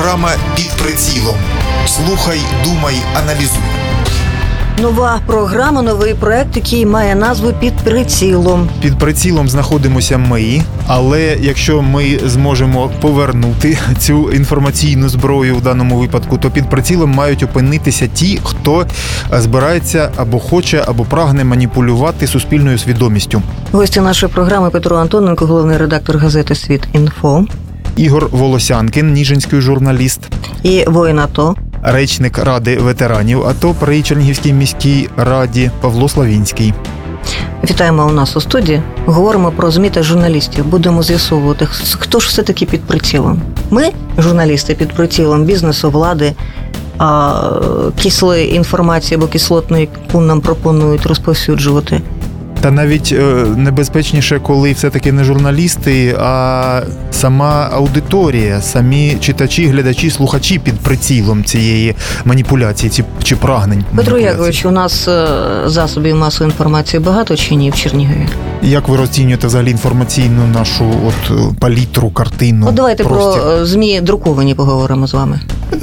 Програма «Під прицілом». Слухай, думай, аналізуй. Нова програма, новий проект, який має назву «Під прицілом». Під прицілом знаходимося ми, але якщо ми зможемо повернути цю інформаційну зброю в даному випадку, то під прицілом мають опинитися ті, хто збирається або хоче, або прагне маніпулювати суспільною свідомістю. Гості нашої програми Петро Антоненко, головний редактор газети «Світ.Інфо». Ігор Волосянкин, ніжинський журналіст. І воїн АТО. Речник Ради ветеранів АТО при Чернігівській міській раді Павло Славінський. Вітаємо у нас у студії. Говоримо про ЗМІ та журналістів. Будемо з'ясовувати, хто ж все-таки під прицілом. Ми, журналісти, під прицілом бізнесу, влади, кислої інформації або кислотної, яку нам пропонують розповсюджувати. Та навіть небезпечніше, коли все-таки не журналісти, а сама аудиторія, самі читачі, глядачі, слухачі під прицілом цієї маніпуляції чи прагнень. Петро Якович, у нас засобів масової інформації багато чи ні в Чернігові? Як ви розцінюєте взагалі інформаційну нашу палітру, картину? Давайте простір? Про ЗМІ друковані поговоримо з вами.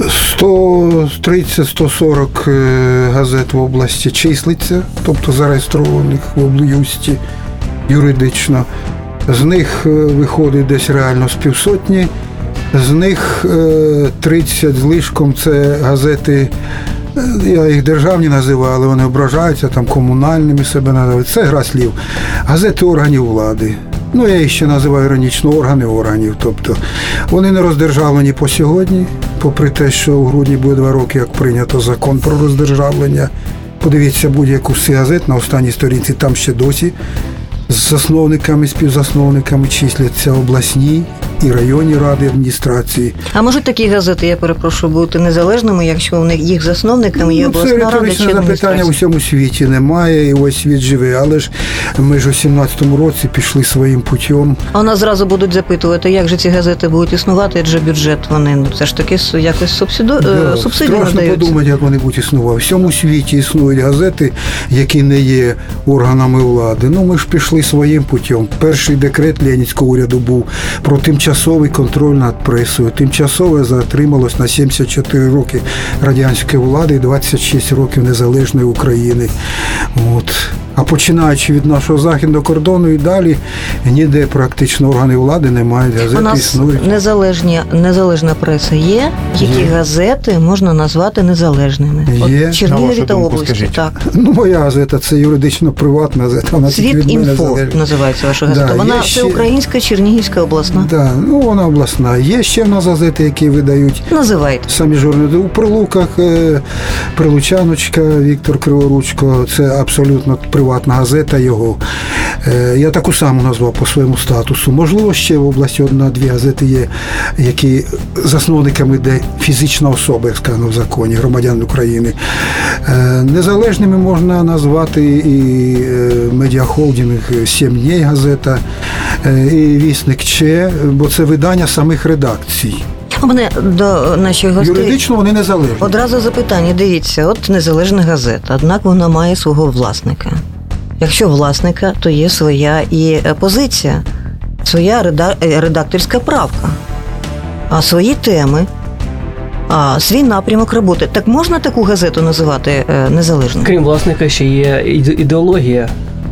130-140 газет в області числиться, тобто зареєстрованих в облюсті юридично. З них виходить десь реально з півсотні, з них 30 злишком це газети, я їх державні називаю, але вони ображаються, там комунальними себе називають. Це гра слів. Газети органів влади. Я їх ще називаю іронічно органи органів. Тобто вони не роздержавлені по сьогодні, попри те, що у грудні буде 2 роки, як прийнято закон про роздержавлення. Подивіться будь-яку з цих газет на останній сторінці, там ще досі з засновниками, співзасновниками числяться обласні і районні ради адміністрації. А можуть такі газети, я перепрошую, бути незалежними, якщо у них їх засновниками є обласна рада чи адміністрація? Це риторичне запитання, у всьому світі немає, і ось світ живе, але ж ми ж у 17-му році пішли своїм путем. А у нас зразу будуть запитувати, як же ці газети будуть існувати, адже бюджет вони все ж таки якось субсидію надаються. Страшно подумати, як вони будуть існувати. У всьому світі існують газети, які не є органами влади. Ми ж пішли своїм путем. Перший декрет Ленінського уряду був про тимчасовий контроль над пресою. Тимчасове затрималось на 74 роки радянської влади і 26 років незалежної України. А починаючи від нашого західного кордону і далі, ніде практично органи влади не мають, газети існують. У нас незалежна преса є, які газети можна назвати незалежними? Є. Чернігові та області, так. Моя газета – це юридично приватна газета. «Світ.Інфо» називається ваша газета. Вона всеукраїнська, Чернігівська, обласна. Так, вона обласна. Є ще в нас газети, які видають. Називайте. Самі журналісти. У Прилуках Прилучаночка, Віктор Криворучко, це абсолютно приватна газета його. Я таку саму назвав по своєму статусу. Можливо, ще в області 1-2 газети є, які засновниками де фізична особа, як сказано в законі, громадян України. Незалежними можна назвати і медіахолдинг «7 днів» газета, і «Вісник Че», бо це видання самих редакцій. У мене до наших гостей юридично вони незалежні. Одразу запитання, дивіться, незалежна газета, однак вона має свого власника. Якщо власника, то є своя і позиція, своя редакторська правка, а свої теми, свій напрямок роботи. Так можна таку газету називати незалежною? Крім власника, ще є ідеологія.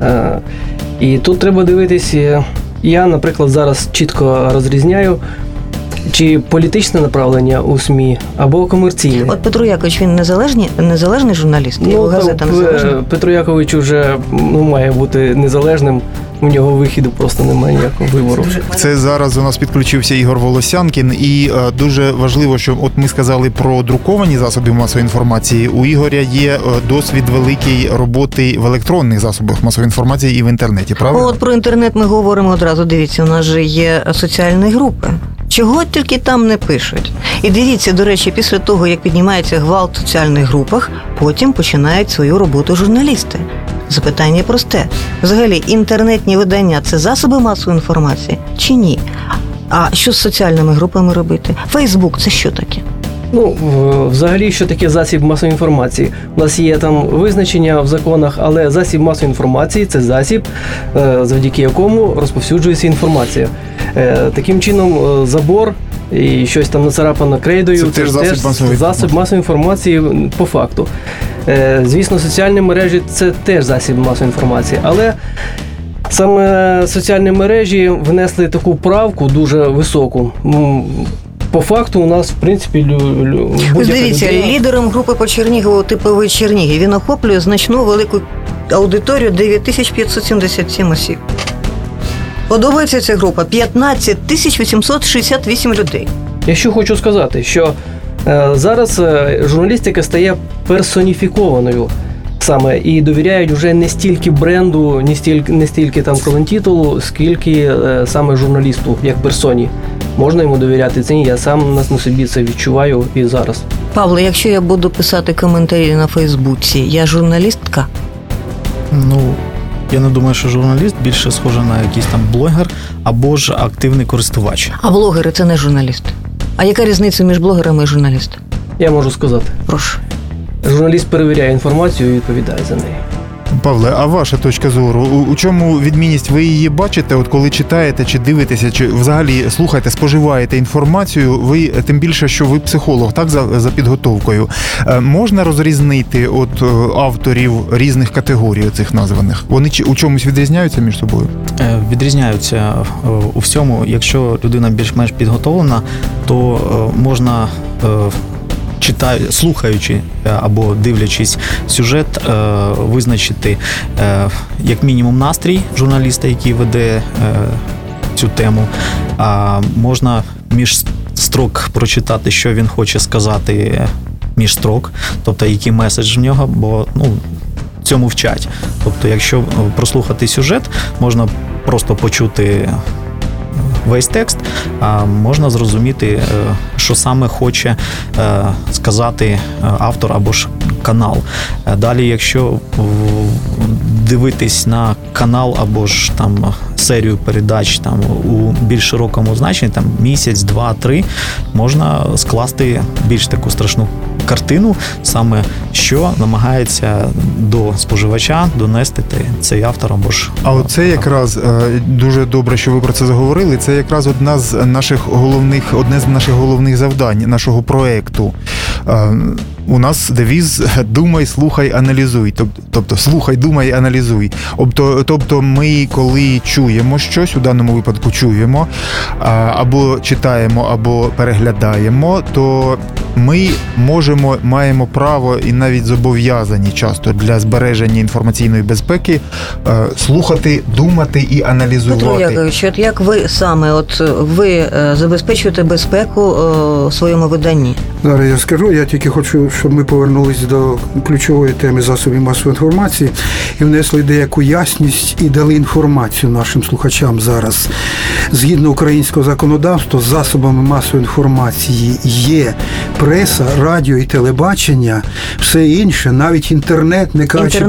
І тут треба дивитися, я, наприклад, зараз чітко розрізняю, чи політичне направлення у СМІ, або комерційне. Петро Якович, він незалежний журналіст? Його газета незалежна? Петро Якович вже має бути незалежним. У нього вихіду просто немає ніякого вибору. Це зараз у нас підключився Ігор Волосянкин, і дуже важливо, що ми сказали про друковані засоби масової інформації. У Ігоря є досвід великий роботи в електронних засобах масової інформації і в інтернеті, правильно? Про інтернет ми говоримо одразу. Дивіться, у нас же є соціальні групи. Чого тільки там не пишуть. І дивіться, до речі, після того, як піднімається гвалт в соціальних групах, потім починають свою роботу журналісти. Запитання просте. Взагалі, інтернетні видання – це засоби масової інформації чи ні? А що з соціальними групами робити? Фейсбук – це що таке? Взагалі, що таке засіб масової інформації? У нас є там визначення в законах, але засіб масової інформації – це засіб, завдяки якому розповсюджується інформація. Таким чином, забор і щось там нацарапано крейдою. Це теж засіб масової інформації по факту. Звісно, соціальні мережі – це теж засіб масової інформації, але саме соціальні мережі внесли таку правку дуже високу. По факту у нас, в принципі, дивіться, лідером групи по Чернігову типовий Чернігів. Він охоплює значну велику аудиторію 9577 осіб. Подобається ця група 15 868 людей. Я що хочу сказати, що зараз журналістика стає персоніфікованою саме і довіряють вже не стільки бренду, не стільки там колонтитулу, скільки саме журналісту, як персоні. Можна йому довіряти це? Ні, я сам на собі це відчуваю і зараз. Павло, якщо я буду писати коментарі на Фейсбуці, я журналістка? Я не думаю, що журналіст більше схожий на якийсь там блогер або ж активний користувач. А блогери – це не журналісти. А яка різниця між блогерами і журналістом? Я можу сказати. Прошу. Журналіст перевіряє інформацію і відповідає за неї. Павле, а ваша точка зору? У чому відмінність? Ви її бачите, от коли читаєте, чи дивитеся, чи взагалі слухаєте, споживаєте інформацію, ви, тим більше, що ви психолог, так, за підготовкою. Можна розрізнити от авторів різних категорій цих названих? Вони у чомусь відрізняються між собою? Відрізняються у всьому. Якщо людина більш-менш підготовлена, то можна... слухаючи або дивлячись сюжет, визначити як мінімум настрій журналіста, який веде цю тему. Можна між строк прочитати, що він хоче сказати між строк, тобто який меседж в нього, бо цьому вчать. Тобто, якщо прослухати сюжет, можна просто почути весь текст, можна зрозуміти, що саме хоче сказати автор або ж канал. Далі, якщо дивитись на канал або ж там серію передач там у більш широкому значенні, там місяць, 2-3, можна скласти більш таку страшну картину, саме що намагається до споживача донести цей автор або ж... А оце якраз дуже добре, що ви про це заговорили. Це якраз одне з наших головних завдань нашого проекту. У нас девіз «Думай, слухай, аналізуй». Тобто слухай, думай, аналізуй. Тобто ми, коли чуємо щось, у даному випадку чуємо, або читаємо, або переглядаємо, то ми маємо право і навіть зобов'язані часто для збереження інформаційної безпеки слухати, думати і аналізувати. Петро Якович, от як ви саме, ви забезпечуєте безпеку своєму виданні? Зараз я скажу, я тільки хочу, щоб ми повернулись до ключової теми засобів масової інформації і внесли деяку ясність і дали інформацію нашим слухачам зараз. Згідно українського законодавства, засобами масової інформації є преса, радіо і телебачення, все інше, навіть інтернет, не кажучи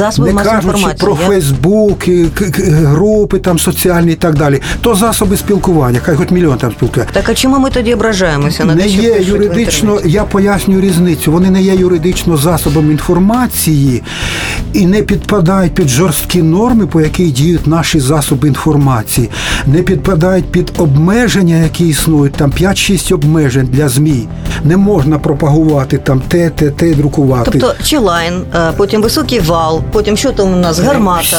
про Фейсбук, групи там соціальні і так далі. То засоби спілкування, хай хоч мільйон там спілкує. Так а чому ми тоді ображаємося на те, що пишуть юридично, я пояснюю різницю, вони не є юридично засобами інформації і не підпадають під жорсткі норми, по яких діють наші засоби інформації, не підпадають під обмеження, які існують, там 5-6 обмежень для ЗМІ. Не можна пропагувати там те, друкувати. Тобто Чилайн, потім Високий вал, потім що там у нас, Гармата.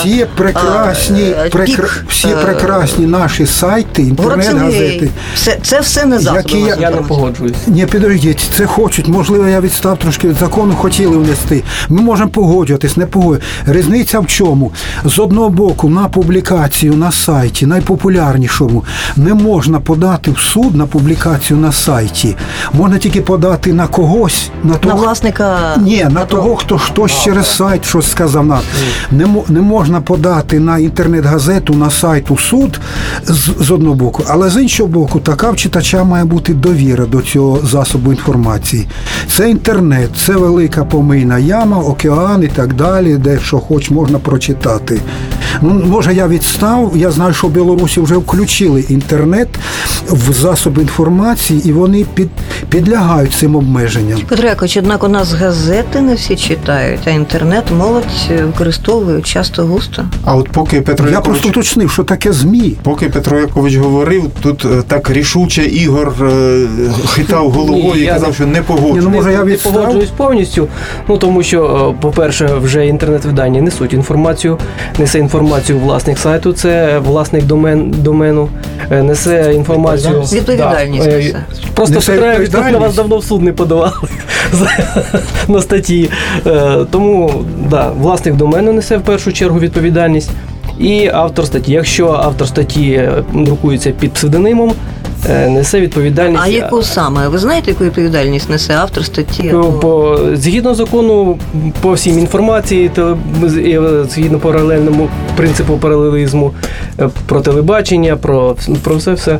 Всі прекрасні наші сайти, інтернет-газети. Це все не засоби. Я не погоджуюсь. Ні, підождіть, це хочуть, можливо, я відстав трошки від закону, хотіли внести. Ми можемо погоджуватись, не погоджуватись. Різниця в чому? З одного боку, на публікацію на сайті, найпопулярнішому, не можна подати в суд на публікацію на сайті. Можна тільки подати на когось, на власника. Ні, на того, хтось через сайт щось сказав. Не можна подати на інтернет-газету, на сайт у суд з одного боку, але з іншого боку, така в читача має бути довіра до цього засобу інформації. Це інтернет, це велика помийна яма, океан і так далі, де що хоч можна прочитати. Ну, може, я відстав, я знаю, що в Білорусі вже включили інтернет в засоби інформації, і вони підлягають цим обмеженням. Петро Якович, однак у нас газети не всі читають, а інтернет молодь використовує часто густо. А от поки Петро Я Якович... просто уточнив, що таке ЗМІ. Поки Петро Якович говорив, тут так рішуче Ігор хитав головою і казав, що не погоджується. Може, я не погоджуюсь повністю, тому що, по-перше, вже інтернет-видання несуть інформацію, несе інформацію власник сайту, це власник домену, несе інформацію... Відповідальність несе. Просто Петро, щоб на вас давно в суд не подавали на статті. Тому, власник домену несе в першу чергу відповідальність і автор статті. Якщо автор статті друкується під псевдонимом, несе відповідальність. А яку саме? Ви знаєте, яку відповідальність несе автор статті? Згідно закону, по всім інформації, згідно паралельному принципу паралелізму, про телебачення, про все.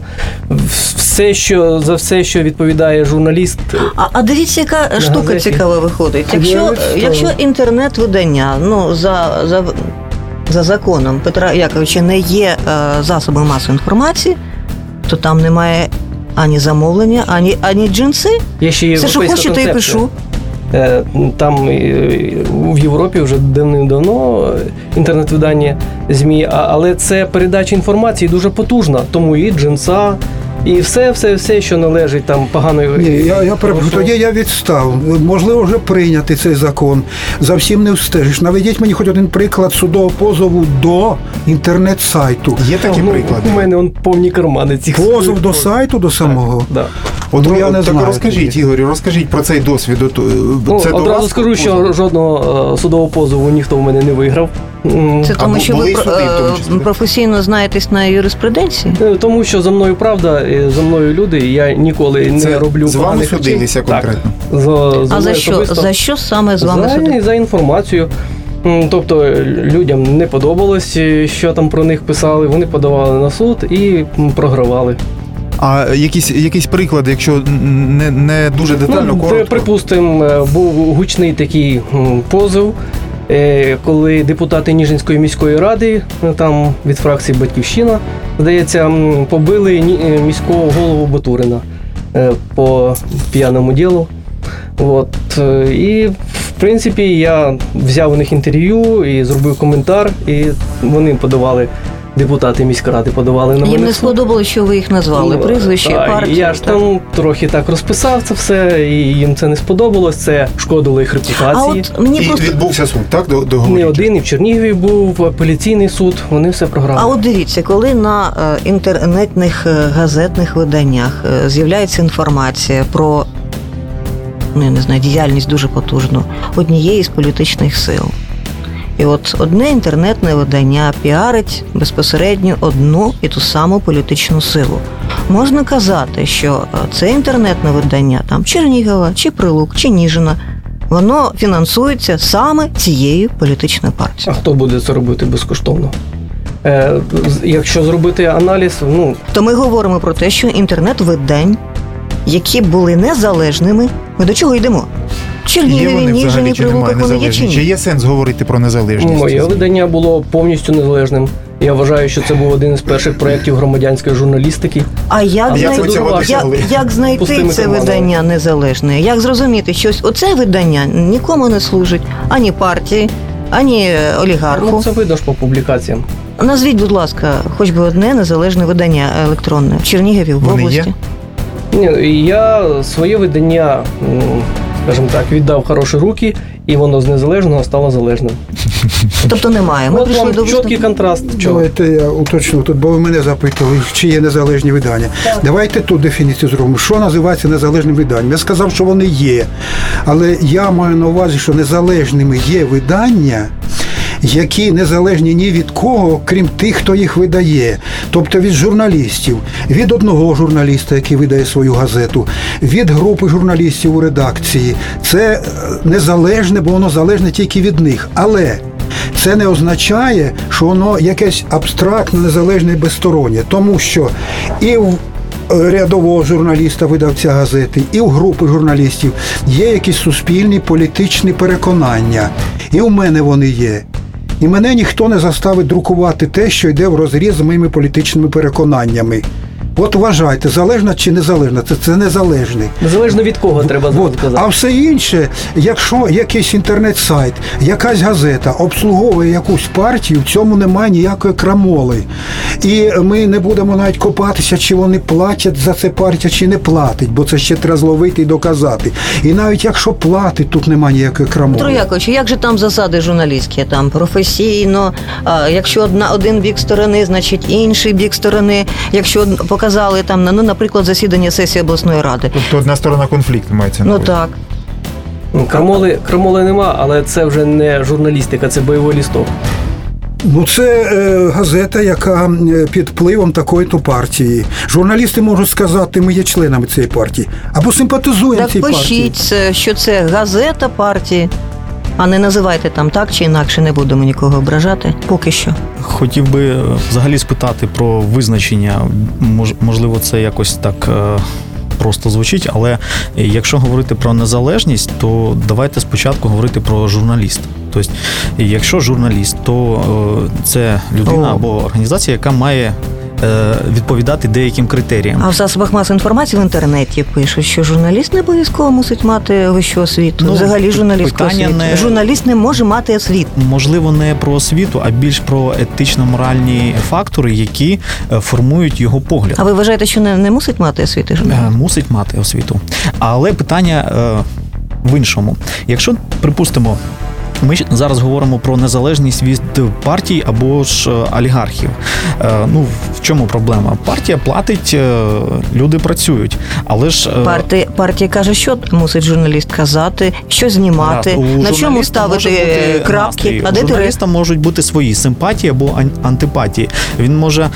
За все, що відповідає журналіст. А дивіться, яка штука газеті. Цікава виходить. Якщо інтернет-видання, за законом Петра Яковича не є засобом масової інформації, то там немає ані замовлення, ані джинси. Все, що хочете, і пишу. Там в Європі вже давним-давно інтернет-видання ЗМІ, але це передача інформації дуже потужна, тому і джинса, і все, що належить там поганої... Ні, я перепрошую, тоді я відстав. Можливо, вже прийняти цей закон. За всім не встежиш. Наведіть мені хоч один приклад судового позову до інтернет-сайту. Є такі приклади? У мене повні кармани цих... Позов до сайту, до самого? Так. От я не знаю. Розкажіть, Ігорю, розкажіть про цей досвід. Це одразу скажу, що жодного судового позову ніхто в мене не виграв. Це тому, що ви професійно знаєтесь на юриспруденції? Тому що за мною правда, за мною люди, я ніколи не роблю з вами судилися конкретно? А за що саме з вами судилися? За інформацію. Тобто людям не подобалось, що там про них писали, вони подавали на суд і програвали. А якісь приклади, якщо не дуже детально, коротко? Припустимо, був гучний такий позов, коли депутати Ніжинської міської ради, там від фракції «Батьківщина», здається, побили міського голову Батурина по п'яному ділу. І, в принципі, я взяв у них інтерв'ю і зробив коментар, і вони подавали, депутати міськради подавали на мене. Їм не сподобалося, що ви їх назвали, прізвище, партію. Я ж там трохи так розписав це все, і їм це не сподобалось, це шкодило їх репутації. Відбувся суд, так? Не один, і в Чернігові був апеляційний суд, вони все програли. А от дивіться, коли на інтернетних газетних виданнях з'являється інформація про, діяльність дуже потужну однієї з політичних сил. І от одне інтернетне видання піарить безпосередньо одну і ту саму політичну силу. Можна казати, що це інтернетне видання, там Чернігова, чи Прилук, чи Ніжина, воно фінансується саме цією політичною партією. А хто буде це робити безкоштовно? Якщо зробити аналіз, то ми говоримо про те, що інтернет-видань, які були незалежними, ми до чого йдемо? Чернігові, Ніжині, Прилуках, вони є чи ні? Чи є сенс говорити про незалежність? Моє видання було повністю незалежним. Я вважаю, що це був один із перших проєктів громадянської журналістики. А як знайти це видання незалежне? Як зрозуміти, що оце видання нікому не служить, ані партії, ані олігарху? Це видно ж по публікаціям. Назвіть, будь ласка, хоч би одне незалежне видання електронне в Чернігові, в області. Я своє видання, скажімо так, віддав в хороші руки, і воно з незалежного стало залежним. Тобто немає. Ми прийшли до чіткий контраст. Давайте я уточню тут, бо ви мене запитували, чи є незалежні видання. Так. Давайте тут дефініцію зробимо. Що називається незалежним виданням? Я сказав, що вони є. Але я маю на увазі, що незалежними є видання, які незалежні ні від кого, крім тих, хто їх видає. Тобто від журналістів, від одного журналіста, який видає свою газету, від групи журналістів у редакції. Це незалежне, бо воно залежне тільки від них. Але це не означає, що воно якесь абстрактне, незалежне і безстороннє. Тому що і в рядового журналіста, видавця газети, і у групи журналістів є якісь суспільні політичні переконання. І у мене вони є. І мене ніхто не заставить друкувати те, що йде врозріз з моїми політичними переконаннями. От вважайте, залежна чи незалежна, це незалежний. Незалежно від кого треба сказати. А все інше, якщо якийсь інтернет-сайт, якась газета обслуговує якусь партію, в цьому немає ніякої крамоли. І ми не будемо навіть копатися, чи вони платять за це партія, чи не платить, бо це ще треба зловити і доказати. І навіть якщо платить, тут немає ніякої крамоли. Петро Яковлевич, як же там засади журналістські? Там професійно, якщо один бік сторони, значить інший бік сторони, якщо показали там, наприклад, засідання сесії обласної ради. Тобто одна сторона конфлікту мається на увазі. Так. Крамоли нема, але це вже не журналістика, це бойовий лісток. Це газета, яка під впливом такої-то партії. Журналісти можуть сказати, ми є членами цієї партії, або симпатизуємо цій партії. Так пишіть, що це газета партії, а не називайте там так чи інакше, не будемо нікого ображати, поки що. Хотів би взагалі спитати про визначення, можливо, це якось так просто звучить, але якщо говорити про незалежність, то давайте спочатку говорити про журналіста. Тобто, якщо журналіст, то це людина або організація, яка має відповідати деяким критеріям. А в засобах масової інформації в інтернеті пишуть, що журналіст не обов'язково мусить мати вищу освіту. Взагалі журналістську освіту. Журналіст не може мати освіту. Можливо, не про освіту, а більш про етично-моральні фактори, які формують його погляд. А ви вважаєте, що не мусить мати освіту журналіст? Мусить мати освіту. Але питання в іншому. Якщо, припустимо, ми зараз говоримо про незалежність від партій або ж олігархів. В чому проблема? Партія платить, люди працюють, але ж... Партія каже, що мусить журналіст казати, що знімати, на чому ставити крапки, а де у журналіста можуть бути свої симпатії або антипатії. Він може,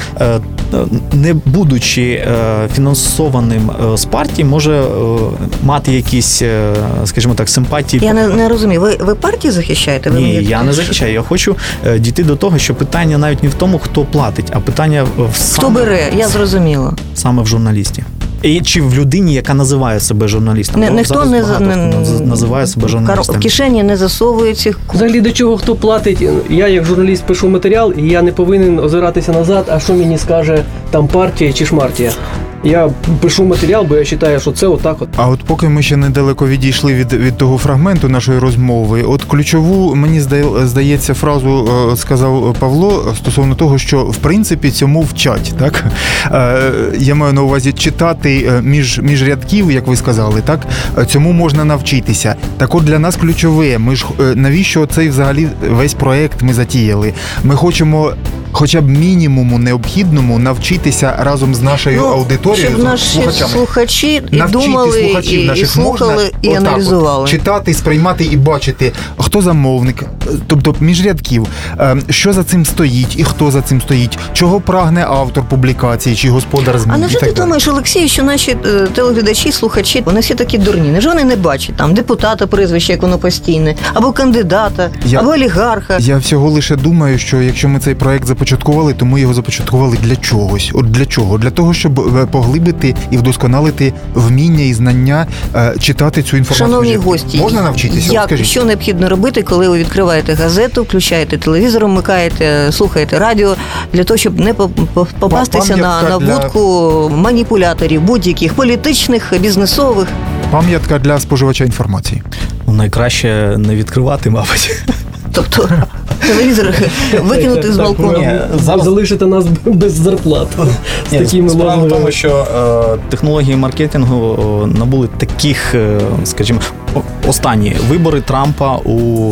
не будучи фінансованим з партії, може мати якісь, скажімо так, симпатії. Я не розумію, ви партії захищаєте? Ні, я не захищаю. Я хочу дійти до того, що питання навіть не в тому, хто платить, а питання хто бере, я зрозуміла. Саме в журналісті. І чи в людині, яка називає себе журналістом. Ніхто називає себе журналістом. В кишені не засовується. Взагалі до чого хто платить? Я як журналіст пишу матеріал, і я не повинен озиратися назад, а що мені скаже там партія чи шмартія. Я пишу матеріал, бо я вважаю, що це отак от. А от поки ми ще недалеко відійшли від того фрагменту нашої розмови, от ключову, мені здається, фразу сказав Павло стосовно того, що в принципі цьому вчать, так? Я маю на увазі читати між рядків, як ви сказали, так? Цьому можна навчитися. Так от для нас ключове, ми ж навіщо цей взагалі весь проект ми затіяли? Ми хочемо хоча б мінімуму необхідному навчитися разом з нашою аудиторією, щоб наші слухачі і думали, і слухали, і аналізували. Читати, сприймати і бачити, хто замовник, тобто між рядків, що за цим стоїть і хто за цим стоїть, чого прагне автор публікації чи господар ЗМІ. А невже ти думаєш, Олексій, що наші телеглядачі, слухачі, вони всі такі дурні? Невже вони не бачать там депутата прізвище, як воно постійне, або кандидата, або олігарха? Я всього лише думаю, що якщо ми цей проект започаткували, то ми його започаткували для чогось. От для чого? Для того, щоб поглибити і вдосконалити вміння і знання читати цю інформацію. Шановні гості, можна навчитися? Що необхідно робити, коли ви відкриваєте газету, включаєте телевізор, вмикаєте, слухаєте радіо, для того, щоб не попастися на вудку маніпуляторів, будь-яких політичних, бізнесових. Пам'ятка для споживача інформації. Найкраще не відкривати, мабуть. Тобто телевізор викинути з балкону. Залишити нас без зарплат. Справа в тому, що технології маркетингу набули таких, скажімо, останні вибори Трампа у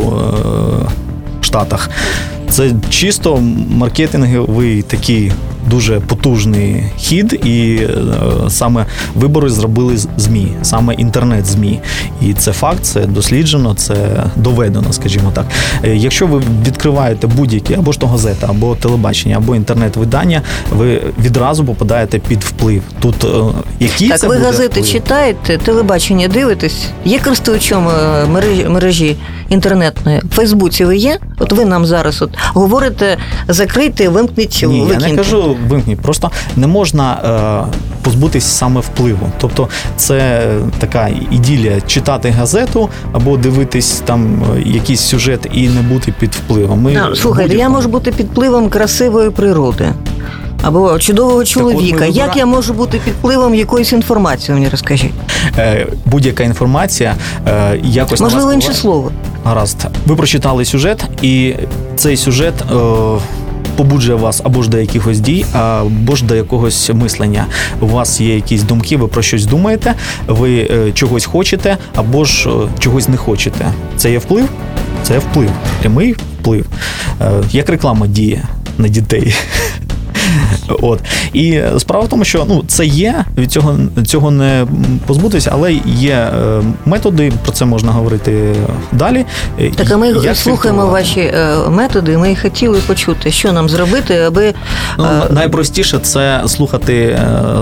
Штатах. Це чисто маркетинговий такий дуже потужний хід, і саме вибори зробили ЗМІ, саме інтернет-ЗМІ. І це факт, це досліджено, це доведено, скажімо так. Якщо ви відкриваєте будь-які, або ж то газета, або телебачення, або інтернет-видання, ви відразу попадаєте під вплив. Тут який так, це ви буде газети вплив? Читаєте, телебачення дивитесь? Є користувачом мережі інтернетної. В Фейсбуці ви є? От ви нам зараз говорите, закрийте, вимкніть, викиньте. Я не кажу вимкніть, просто не можна позбутись саме впливу. Тобто це така ідилія читати газету або дивитись там якийсь сюжет і не бути під впливом. Слухайте, я можу бути під впливом красивої природи. Або чудового чоловіка. Як я можу бути під впливом якоїсь інформації, мені розкажіть? Будь-яка інформація якось... Можливо, інше слово. Гаразд. Ви прочитали сюжет, і цей сюжет побуджує вас або ж до якихось дій, або ж до якогось мислення. У вас є якісь думки, ви про щось думаєте, ви чогось хочете, або ж чогось не хочете. Це є вплив? Це є вплив. Прямий вплив. Як реклама діє на дітей. От. І справа в тому, що це є, від цього не позбутися, але є методи, про це можна говорити далі. Так, а ми слухаємо ваші методи, і ми хотіли почути, що нам зробити, аби... Найпростіше – це слухати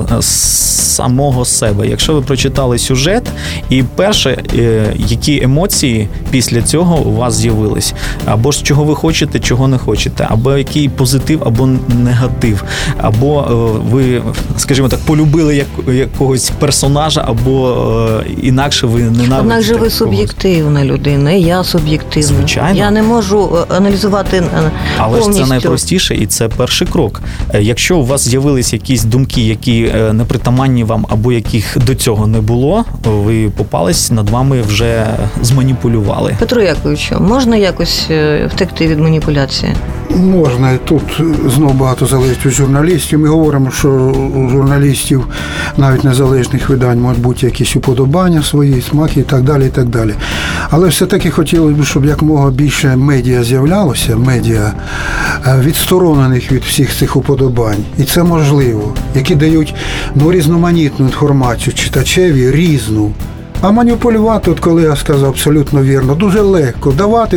самого себе. Якщо ви прочитали сюжет, і перше, які емоції після цього у вас з'явились, або ж чого ви хочете, чого не хочете, або який позитив, або негатив, або ви, скажімо так, полюбили якогось персонажа, або інакше ви ненавидите. Однак же ви суб'єктивна людина, і я суб'єктивна. Звичайно. Я не можу аналізувати але повністю. ж це найпростіше, і це перший крок. Якщо у вас з'явились якісь думки, які непритаманні вам, або яких до цього не було, ви попались, над вами вже зманіпулювали. Петро Яковичу, можна якось втекти від маніпуляції? Можна. Тут знову багато залежить від журналістів. Ми говоримо, що у журналістів навіть незалежних видань можуть бути якісь уподобання свої, смаки і так далі, і так далі. Але все-таки хотілося б, щоб якомога більше медіа з'являлося, медіа відсторонених від всіх цих уподобань. І це можливо. Які дають різноманітну інформацію читачеві, різну. А маніпулювати, от колега сказав абсолютно вірно, дуже легко.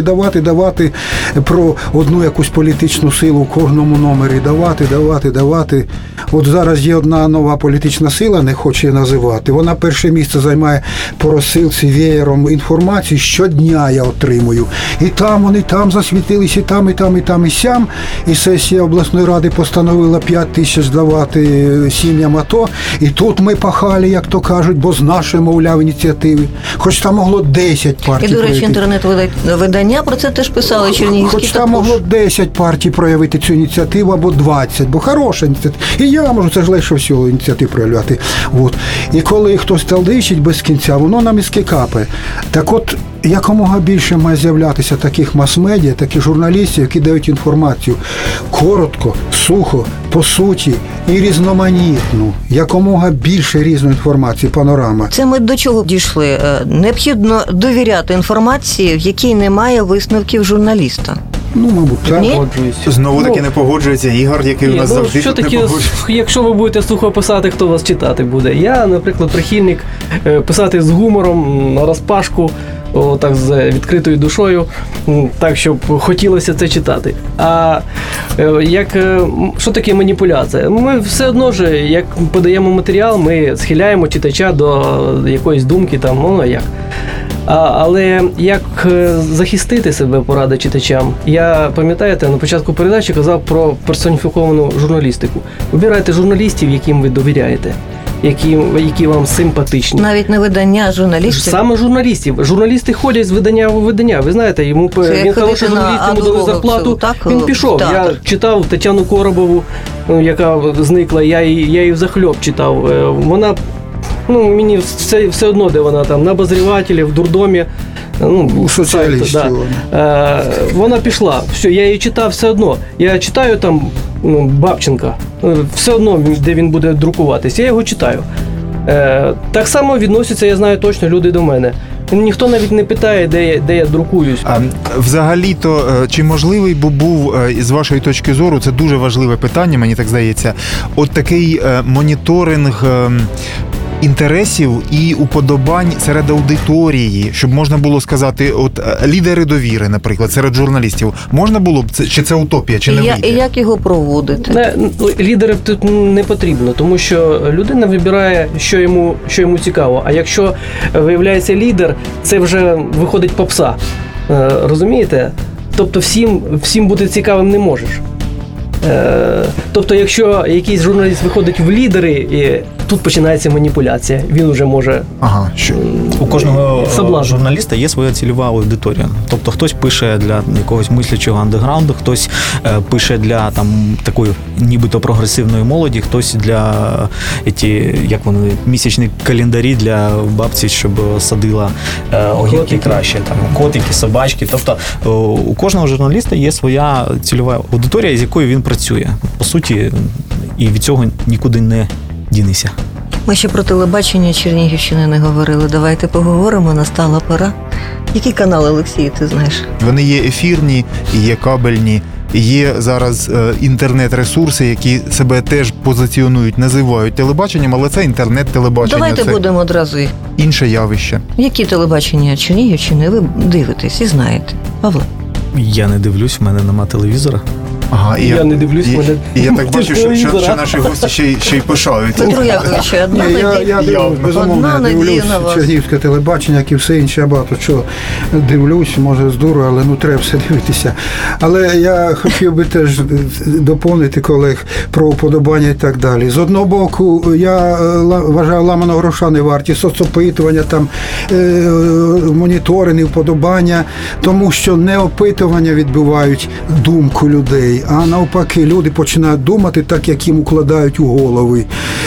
Давати про одну якусь політичну силу в кожному номері. Давати. От зараз є одна нова політична сила, не хочу її називати. Вона перше місце займає по розсилці веєром інформації. Щодня я отримую. І там вони засвітились, і там, і сям. І сесія обласної ради постановила 5 тисяч давати сім'ям АТО. І тут ми пахали, як то кажуть, бо з нашої, мовляв, ініціативи. Хоч там могло 10 партій. І, до речі, інтернет-видання про це теж писали чернігівські. Хоч там могло 10 партій проявити цю ініціативу, або 20, бо хороша ініціатива. І я можу, це ж легше всього ініціатив проявляти. От. І коли хтось талдичить без кінця, воно на мізки капає. Так от, якомога більше має з'являтися таких мас-медіа, таких журналістів, які дають інформацію коротко, сухо, по суті і різноманітну. Якомога більше різної інформації, панорама. Це ми до чого дійшли? Необхідно довіряти інформації, в якій немає висновків журналіста. Мабуть, так. Знову таки не погоджується Ігор, який у нас завжди що тут таке, не погоджується. якщо ви будете сухо писати, хто вас читати буде? Я, наприклад, прихильник писати з гумором, на розпашку, так з відкритою душою, так, щоб хотілося це читати. А що таке маніпуляція? Ми все одно ж, як подаємо матеріал, ми схиляємо читача до якоїсь думки, як. Але як захистити себе, порада читачам? Я, пам'ятаєте, на початку передачі казав про персоніфіковану журналістику. Вибирайте журналістів, яким ви довіряєте, які вам симпатичні. Навіть не видання, а журналістів? Саме журналістів. Журналісти ходять з видання в видання. Ви знаєте, він хороший журналіст, йому дали зарплату, він пішов. Я читав Тетяну Коробову, яка зникла, я її взахльоп читав. Вона... мені все одно, де вона там, на обозрівателі, в дурдомі. У соціалістів. Да. Вона пішла. Все, я її читав все одно. Я читаю там Бабченка. Все одно, де він буде друкуватись. Я його читаю. Так само відносяться, я знаю точно, люди до мене. Ніхто навіть не питає, де я друкуюсь. Взагалі-то, чи можливий був, з вашої точки зору, це дуже важливе питання, мені так здається, от такий моніторинг інтересів і уподобань серед аудиторії, щоб можна було сказати, от лідери довіри, наприклад, серед журналістів, можна було б, чи це утопія, чи не вийде? І як його проводити? Лідерів тут не потрібно, тому що людина вибирає, що йому цікаво. А якщо виявляється лідер, це вже виходить попса. Розумієте? Тобто всім бути цікавим не можеш. Тобто, якщо якийсь журналіст виходить в лідери, і тут починається маніпуляція. Він вже може... У кожного журналіста є своя цільова аудиторія. Тобто хтось пише для якогось мислячого андеграунду, хтось пише для такої нібито прогресивної молоді, хтось для місячні календарі для бабці, щоб садила огірки краще, котики, собачки. Тобто у кожного журналіста є своя цільова аудиторія, з якою він працює. По суті, і від цього нікуди не дінися. Ми ще про телебачення Чернігівщини не говорили. Давайте поговоримо, настала пора. Які канали, Олексій, ти знаєш? Вони є ефірні, є кабельні, є зараз інтернет-ресурси, які себе теж позиціонують, називають телебаченням, але це інтернет-телебачення. Давайте це будемо одразу їх. Інше явище. Які телебачення Чернігівщини ви дивитесь і знаєте? Павло? Я не дивлюсь, в мене нема телевізора. Ага, я не дивлюсь, і я так бачу, що наші гості ще й пишаються. Петро Яковлевич, Я дивлюсь, безумовно, дивлюсь чернігівське телебачення, як і все інше, я багато чого дивлюсь, може здорово, але треба все дивитися. Але я хотів би теж доповнити колег про уподобання і так далі. З одного боку, я вважаю, ламаного гроша не варті, соцопитування, моніторинги, вподобання, тому що не опитування відбивають думку людей, а навпаки, люди починають думати так, як їм укладають у голови.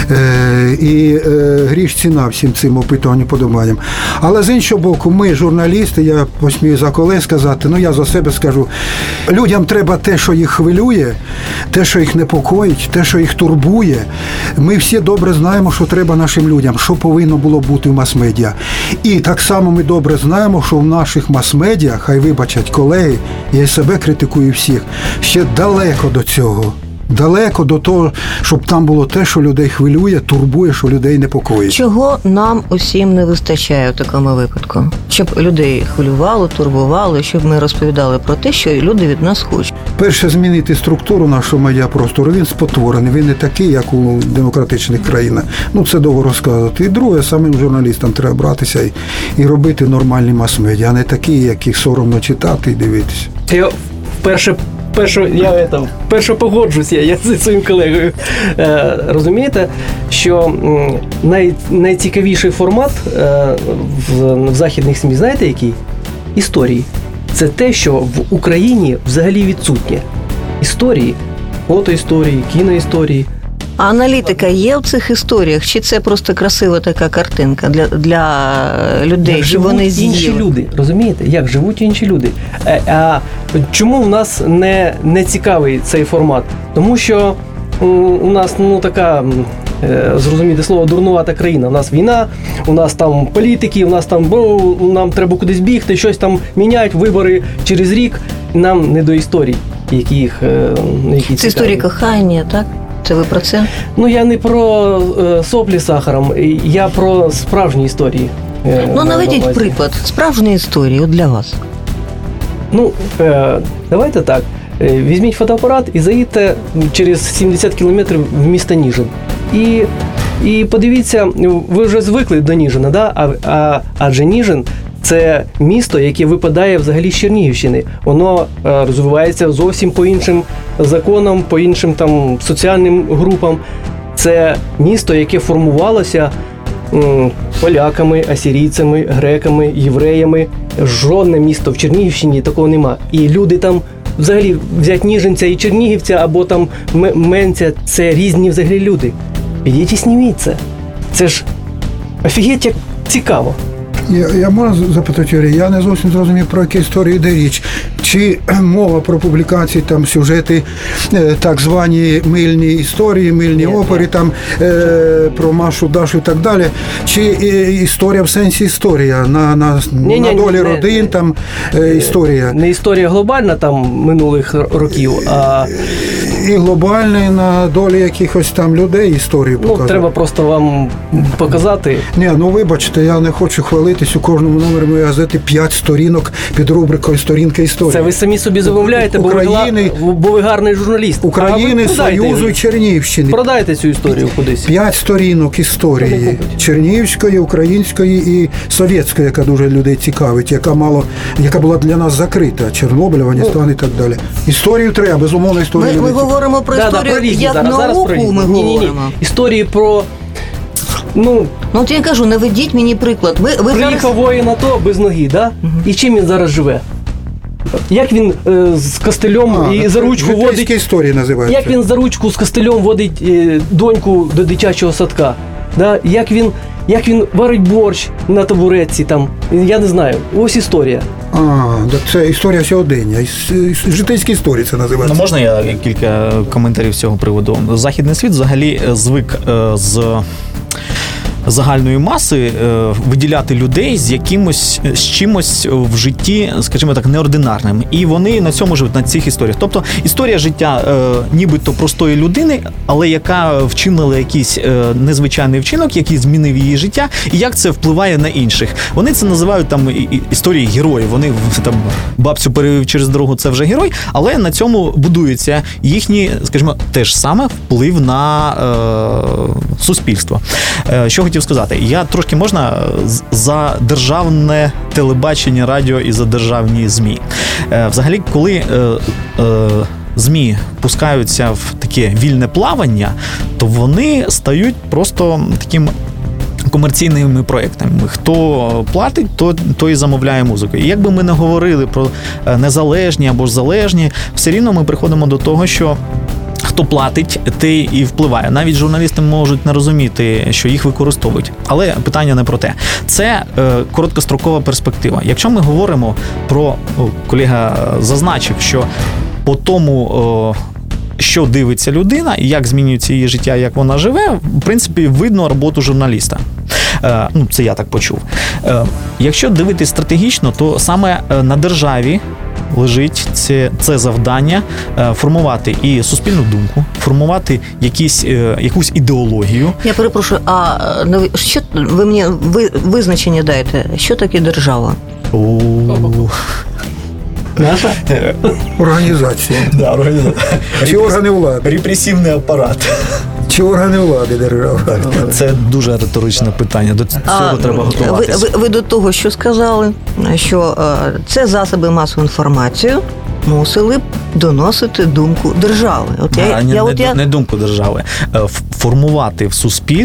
І гріш ціна всім цим опитуванням, подобанням. Але з іншого боку, ми, журналісти, я посмію за колег сказати, я за себе скажу, людям треба те, що їх хвилює, те, що їх непокоїть, те, що їх турбує. Ми всі добре знаємо, що треба нашим людям, що повинно було бути в мас-медіа. І так само ми добре знаємо, що в наших мас-медіа, хай вибачать колеги, я і себе критикую всіх, ще далеко до цього. Далеко до того, щоб там було те, що людей хвилює, турбує, що людей непокоїть. Чого нам усім не вистачає в такому випадку? Щоб людей хвилювало, турбувало, щоб ми розповідали про те, що люди від нас хочуть. Перше, змінити структуру нашого медіапростору. Він спотворений, він не такий, як у демократичних країнах. Це довго розказувати. І друге, самим журналістам треба братися і робити нормальні мас-медіа, а не такі, яких соромно читати і дивитися. Я вперше погоджуся я зі своїм колегою. Розумієте, що найцікавіший формат в західних СМІ, знаєте який? Історії. Це те, що в Україні взагалі відсутнє. Історії, фотоісторії, кіноісторії. А аналітика є в цих історіях? Чи це просто красива така картинка для людей, як щоб вони з'їли? Інші люди, розумієте? Як живуть інші люди. А чому в нас не цікавий цей формат? Тому що у нас така, зрозуміти слово, дурнувата країна. У нас війна, у нас там політики, у нас там нам треба кудись бігти, щось там міняють, вибори через рік. Нам не до історій, які це історії кохання, так? Це ви про це? Я не про соплі з сахаром, я про справжні історії. Наведіть приклад справжньої історії для вас. Давайте так. Візьміть фотоапарат і заїдьте через 70 кілометрів в місто Ніжин. І подивіться, ви вже звикли до Ніжина, да? Адже Ніжин – це місто, яке випадає взагалі з Чернігівщини. Воно розвивається зовсім по іншим законам, по іншим соціальним групам. Це місто, яке формувалося поляками, асирійцями, греками, євреями. Жодне місто в Чернігівщині такого нема. І люди там, взагалі, взять Ніжинця і Чернігівця, або Менця, це різні взагалі люди. Підіть і зніміть це. Це ж офігеть як цікаво. Я можу запитати, Юрій, я не зовсім зрозумів, про які історії йде річ. Чи мова про публікації, сюжети, так звані мильні історії, мильні опери, про Машу, Дашу і так далі, чи історія в сенсі історія, на долі родин, історія? Не історія глобальна минулих років, а І глобальний на долі якихось там людей історію показує. Треба просто вам показати. Ні, вибачте, я не хочу хвалитись, у кожному номері моєї газети 5 сторінок під рубрикою «Сторінка історії». Це ви самі собі замовляєте, бо ви гарний журналіст. України, Союзу і Чернігівщини. Продайте цю історію кудись. 5 сторінок історії Чернігівської, української і совєтської, яка дуже людей цікавить, яка була для нас закрита. Чорнобиль, Афганістан і так далі. Історію треба, безумовно, історію. Ми говоримо про історію як науку, ми говоримо. Історії про... От я кажу, наведіть мені приклад. Приїхав воїн АТО без ноги, да? І чим він зараз живе? Як він з костелем і за ручку водить... історії називаються. Як він за ручку з костелем водить доньку до дитячого садка? Да? Як він варить борщ на табуретці там? Я не знаю. Ось історія. Це історія сьогодення. Житейські історії це називається. Можна я кілька коментарів з цього приводу? Західний світ взагалі звик з загальної маси виділяти людей з чимось в житті, скажімо так, неординарним. І вони на цьому живуть, на цих історіях. Тобто історія життя нібито простої людини, але яка вчинила якийсь незвичайний вчинок, який змінив її життя, і як це впливає на інших. Вони це називають там історії героїв. Вони там бабцю перевів через дорогу, це вже герой, але на цьому будується їхній, скажімо, теж саме вплив на суспільство. Що хотів сказати? Я трошки можна за державне телебачення, радіо і за державні ЗМІ. Взагалі, коли ЗМІ пускаються в таке вільне плавання, то вони стають просто таким комерційними проєктами. Хто платить, то і замовляє музику. І як би ми не говорили про незалежні або ж залежні, все рівно ми приходимо до того, що хто платить, той і впливає. Навіть журналісти можуть не розуміти, що їх використовують. Але питання не про те. Це короткострокова перспектива. Якщо ми говоримо про, колега зазначив, що по тому, що дивиться людина і як змінюється її життя, як вона живе, в принципі, видно роботу журналіста. Це я так почув. Якщо дивитись стратегічно, то саме на державі лежить це завдання формувати і суспільну думку, формувати якусь ідеологію. Я перепрошую, що ви мені визначення дайте? Що таке держава? Наша? Організація. Да, організація. Чи органи влади? Репресивний апарат. Чи органи влади держави? Це дуже риторичне питання. До цього треба готуватися. Ви до того, що сказали, що це засоби масової інформації мусили б доносити думку держави. Не думку держави. Формувати в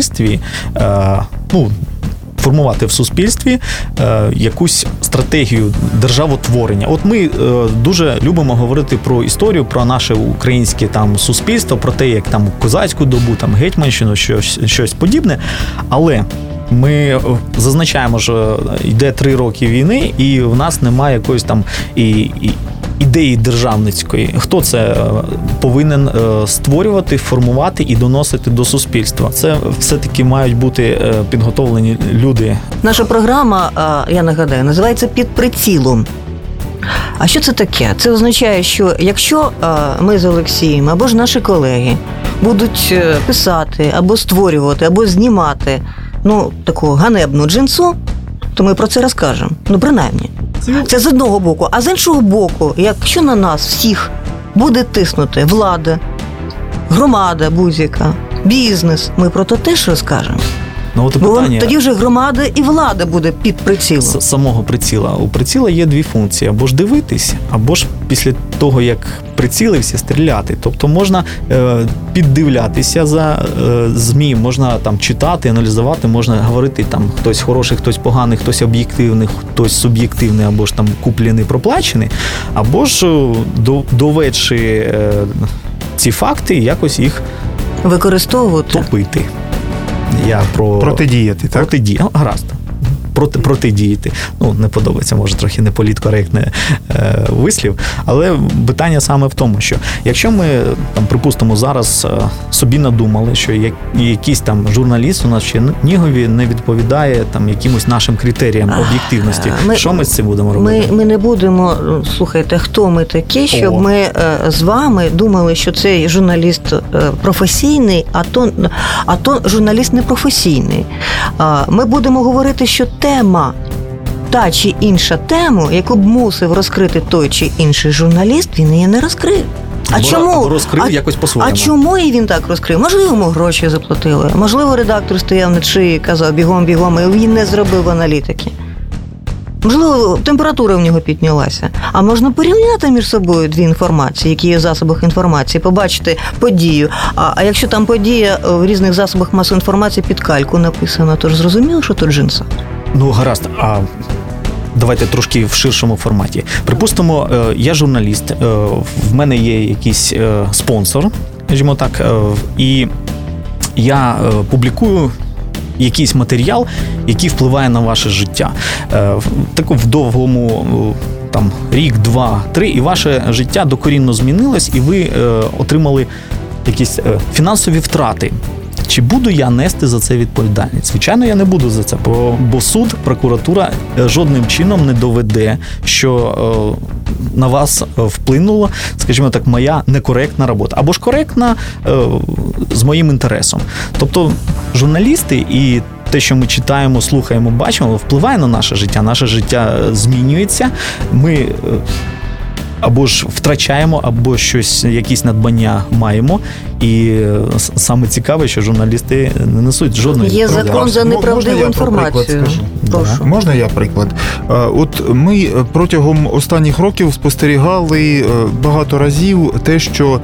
суспільстві якусь стратегію державотворення. От ми дуже любимо говорити про історію, про наше українське там суспільство, про те, як там козацьку добу, там гетьманщину, щось подібне. Але ми зазначаємо, що йде 3 роки війни, і в нас немає якоїсь там ідеї державницької. Хто це повинен створювати, формувати і доносити до суспільства? Це все-таки мають бути підготовлені люди. Наша програма, я нагадаю, називається «Під прицілом». А що це таке? Це означає, що якщо ми з Олексієм або ж наші колеги будуть писати, або створювати, або знімати таку ганебну джинсу, то ми про це розкажемо. Принаймні. Це з одного боку. А з іншого боку, якщо на нас всіх буде тиснути влада, громада будь-яка, бізнес, ми про це теж розкажемо. Бо тоді вже громада і влада буде під прицілом. Самого приціла. У приціла є 2 функції. Або ж дивитись, або ж після того, як прицілився, стріляти. Тобто можна піддивлятися за ЗМІ, можна там читати, аналізувати, можна говорити там хтось хороший, хтось поганий, хтось об'єктивний, хтось суб'єктивний, або ж там куплений, проплачений, або ж доведши ці факти, якось їх використовувати. Топити. Протидіяти, так? Гаразд. протидіяти. Не подобається, може, трохи неполіткоректний вислів, але питання саме в тому, що якщо ми, припустимо, зараз собі надумали, що якийсь там журналіст у нас в Чернігові не відповідає якимось нашим критеріям об'єктивності, що ми з цим будемо робити? Ми не будемо, слухайте, хто ми такі, щоб ми з вами думали, що цей журналіст професійний, а то журналіст непрофесійний. Ми будемо говорити, що тема, та чи інша тема, яку б мусив розкрити той чи інший журналіст, він її не розкрив. Або розкрив якось по-своєму. А чому і він так розкрив? Можливо, йому гроші заплатили. Можливо, редактор стояв на шиї і казав бігом, і він не зробив аналітики. Можливо, температура в нього піднялася. А можна порівняти між собою дві інформації, які є в засобах інформації, побачити подію. А якщо там подія в різних засобах масової інформації під кальку написана, то ж зрозуміло, що то джинса. Гаразд. А давайте трошки в ширшому форматі. Припустимо, я журналіст, в мене є якийсь спонсор, скажімо так, і я публікую якийсь матеріал, який впливає на ваше життя. В довгому рік, 2, 3, і ваше життя докорінно змінилось, і ви отримали якісь фінансові втрати. Чи буду я нести за це відповідальність? Звичайно, я не буду за це, бо суд, прокуратура жодним чином не доведе, що на вас вплинула, скажімо так, моя некоректна робота. Або ж коректна з моїм інтересом. Тобто журналісти і те, що ми читаємо, слухаємо, бачимо, впливає на наше життя змінюється, ми або ж втрачаємо, або якісь надбання маємо. І саме цікаве, що журналісти не несуть жодної відповідальності. Є закон за неправдиву інформацію. Можна я приклад? От ми протягом останніх років спостерігали багато разів те, що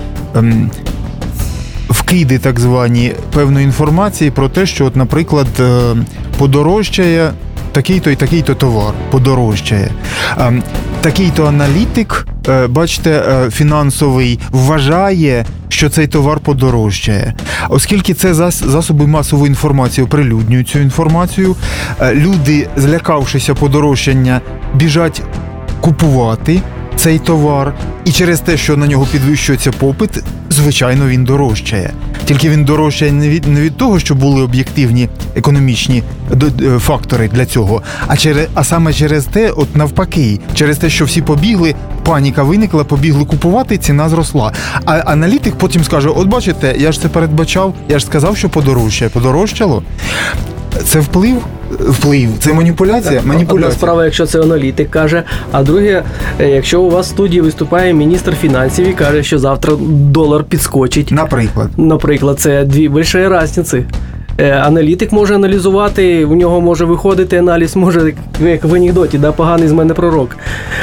вкиди так звані певної інформації про те, що, от, наприклад, подорожчає такий-то і такий-то товар, подорожчає. Такий-то аналітик, бачите, фінансовий, вважає, що цей товар подорожчає. Оскільки це засоби масової інформації оприлюднюють цю інформацію, люди, злякавшися подорожчання, біжать купувати цей товар, і через те, що на нього підвищується попит, звичайно, він дорожчає. Тільки він дорожчає не від того, що були об'єктивні економічні фактори для цього, а саме через те, от навпаки, через те, що всі побігли, паніка виникла, побігли купувати, ціна зросла. А аналітик потім скаже, от бачите, я ж це передбачав, я ж сказав, що подорожчає. Подорожчало? Це вплив, це маніпуляція. Одна справа, якщо це аналітик каже, а друге, якщо у вас в студії виступає міністр фінансів і каже, що завтра долар підскочить. Наприклад, це дві великі різниці. Аналітик може аналізувати, у нього може виходити аналіз, може, як в анекдоті, поганий з мене пророк.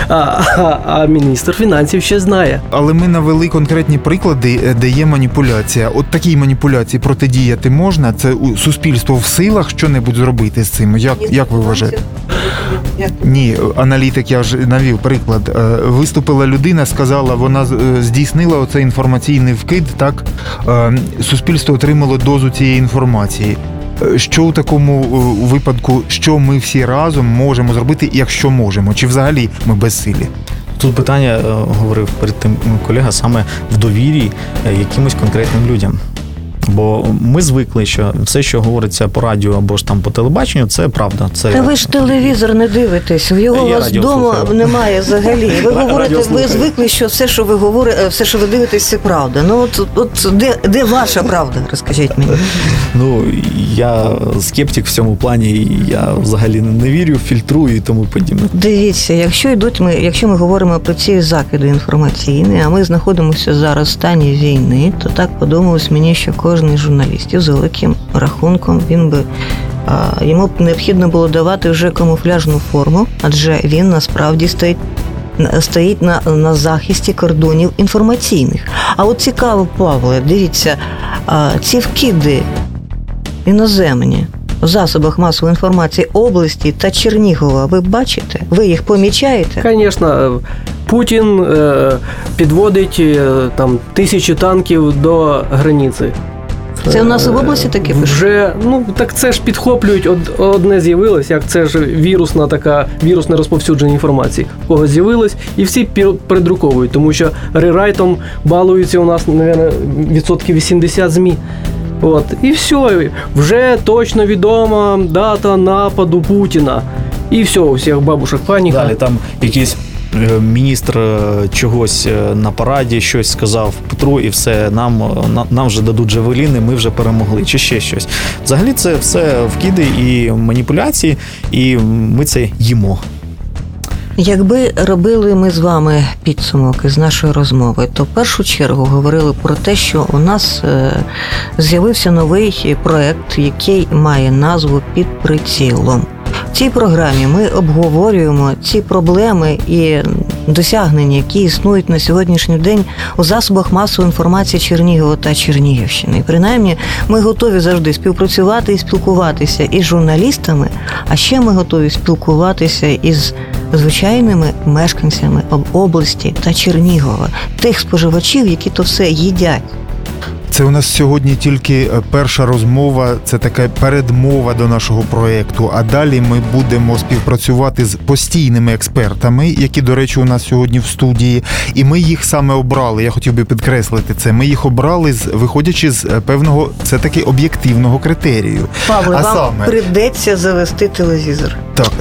А міністр фінансів ще знає. Але ми навели конкретні приклади, де є маніпуляція. От такій маніпуляції протидіяти можна? Це суспільство в силах що-небудь зробити з цим? Як ви вважаєте? Ні, аналітик, я вже навів приклад. Виступила людина, сказала, вона здійснила оцей інформаційний вкид, так? Суспільство отримало дозу цієї інформації. Що у такому випадку, що ми всі разом можемо зробити, якщо можемо? Чи взагалі ми безсилі? Тут питання, говорив перед тим колега, саме в довірі якимось конкретним людям. Бо ми звикли, що все, що говориться по радіо або ж там по телебаченню, це правда. Та ви ж телевізор не дивитесь, його у вас вдома немає взагалі. Ви говорите, ви звикли, що все, що ви говорите, все, що ви дивитесь, це правда. Ну от де ваша правда, розкажіть мені. Ну, я скептик в цьому плані, я взагалі не вірю, фільтрую і тому подібне. Дивіться, якщо ми говоримо про ці закиди інформаційні, а ми знаходимося зараз в стані війни, то так подумалось мені, що кожен журналістів з великим рахунком йому б необхідно було давати вже камуфляжну форму, адже він насправді стоїть на захисті кордонів інформаційних. А от цікаво, Павле, дивіться, ці вкиди іноземні в засобах масової інформації області та Чернігова, ви бачите? Ви їх помічаєте? Звісно, Путін підводить там 1000 танків до границі. Це у нас і в області таке пишуть? Вже, так це ж підхоплюють, одне з'явилось, як це ж вірусне розповсюдження інформації. У когось з'явилось, і всі передруковують, тому що рерайтом балуються у нас, мабуть, 80% ЗМІ. І все, вже точно відома дата нападу Путіна. І все, у всіх бабушек паніка. Далі там якийсь міністр чогось на параді щось сказав Петру, і все, нам вже дадуть джавеліни, ми вже перемогли, чи ще щось. Взагалі це все вкиди і маніпуляції, і ми це їмо. Якби робили ми з вами підсумок із нашої розмови, то в першу чергу говорили про те, що у нас з'явився новий проект, який має назву «Під прицілом». В цій програмі ми обговорюємо ці проблеми і досягнення, які існують на сьогоднішній день у засобах масової інформації Чернігова та Чернігівщини. І принаймні ми готові завжди співпрацювати і спілкуватися із журналістами, а ще ми готові спілкуватися із звичайними мешканцями області та Чернігова, тих споживачів, які то все їдять. Це у нас сьогодні тільки перша розмова, це така передмова до нашого проєкту, а далі ми будемо співпрацювати з постійними експертами, які, до речі, у нас сьогодні в студії, і ми їх саме обрали, я хотів би підкреслити це, ми їх обрали, виходячи з певного, це таки об'єктивного критерію. Павле, вам прийдеться завести телевізор. Так.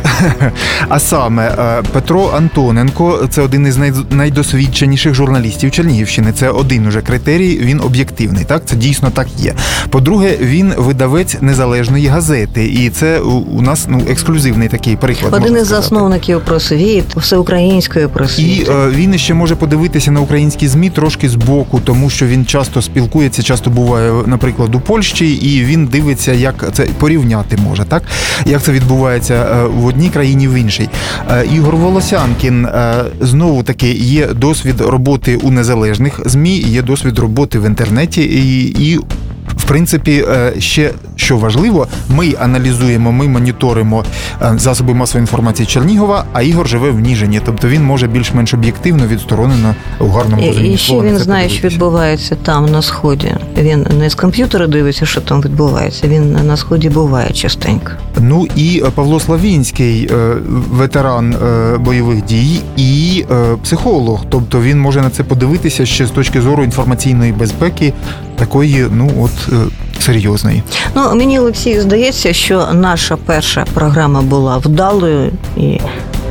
А саме Петро Антоненко, це один із найдосвідченіших журналістів Чернігівщини. Це один уже критерій, він об'єктивний. Так, це дійсно так є. По-друге, він видавець незалежної газети, і це у нас ексклюзивний такий приклад. Один із засновників «Просвіт», всеукраїнської «Просвіт». І він ще може подивитися на українські ЗМІ трошки збоку, тому що він часто спілкується, часто буває, наприклад, у Польщі, і він дивиться, як це порівняти може, так? Як це відбувається в одній країні, в іншій. Ігор Волосянкін, знову таки, є досвід роботи у незалежних ЗМІ, є досвід роботи в інтернеті, і в принципі, ще що важливо, ми аналізуємо, ми моніторимо засоби масової інформації Чернігова, а Ігор живе в Ніжині, тобто він може більш-менш об'єктивно, відсторонено у гарному розумінні. І ще він знає, що відбувається там, на Сході. Він не з комп'ютера дивиться, що там відбувається, він на Сході буває частенько. Ну і Павло Славінський, ветеран бойових дій і психолог, тобто він може на це подивитися ще з точки зору інформаційної безпеки, такої, серйозної. Мені, Олексій, здається, що наша перша програма була вдалою, і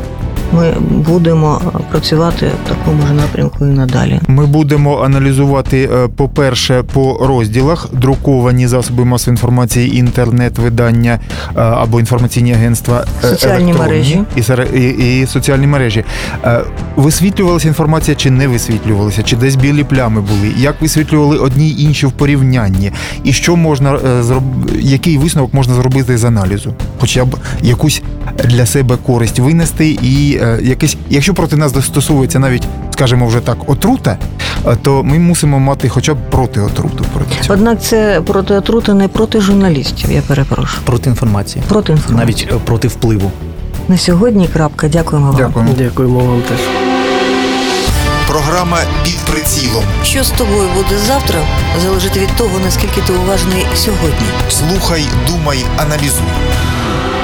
ми будемо працювати в такому ж напрямку і надалі. Ми будемо аналізувати, по-перше, по розділах друковані засоби масової інформації, інтернет-видання або інформаційні агентства, соціальні мережі і соціальні мережі. Висвітлювалася інформація чи не висвітлювалася? Чи десь білі плями були? Як висвітлювали одні й інші в порівнянні? І що можна який висновок можна зробити з аналізу? Хоча б якусь для себе користь винести і якесь, якщо проти нас застосовується навіть, скажімо, вже так, отрута, то ми мусимо мати хоча б протиотруту. Однак це протиотрута не проти журналістів, я перепрошую. Проти інформації. Проти інформації. Навіть проти впливу. На сьогодні крапка. Дякуємо вам. Дякуємо вам теж. Програма «Під прицілом». Що з тобою буде завтра, залежить від того, наскільки ти уважний сьогодні. Слухай, думай, аналізуй.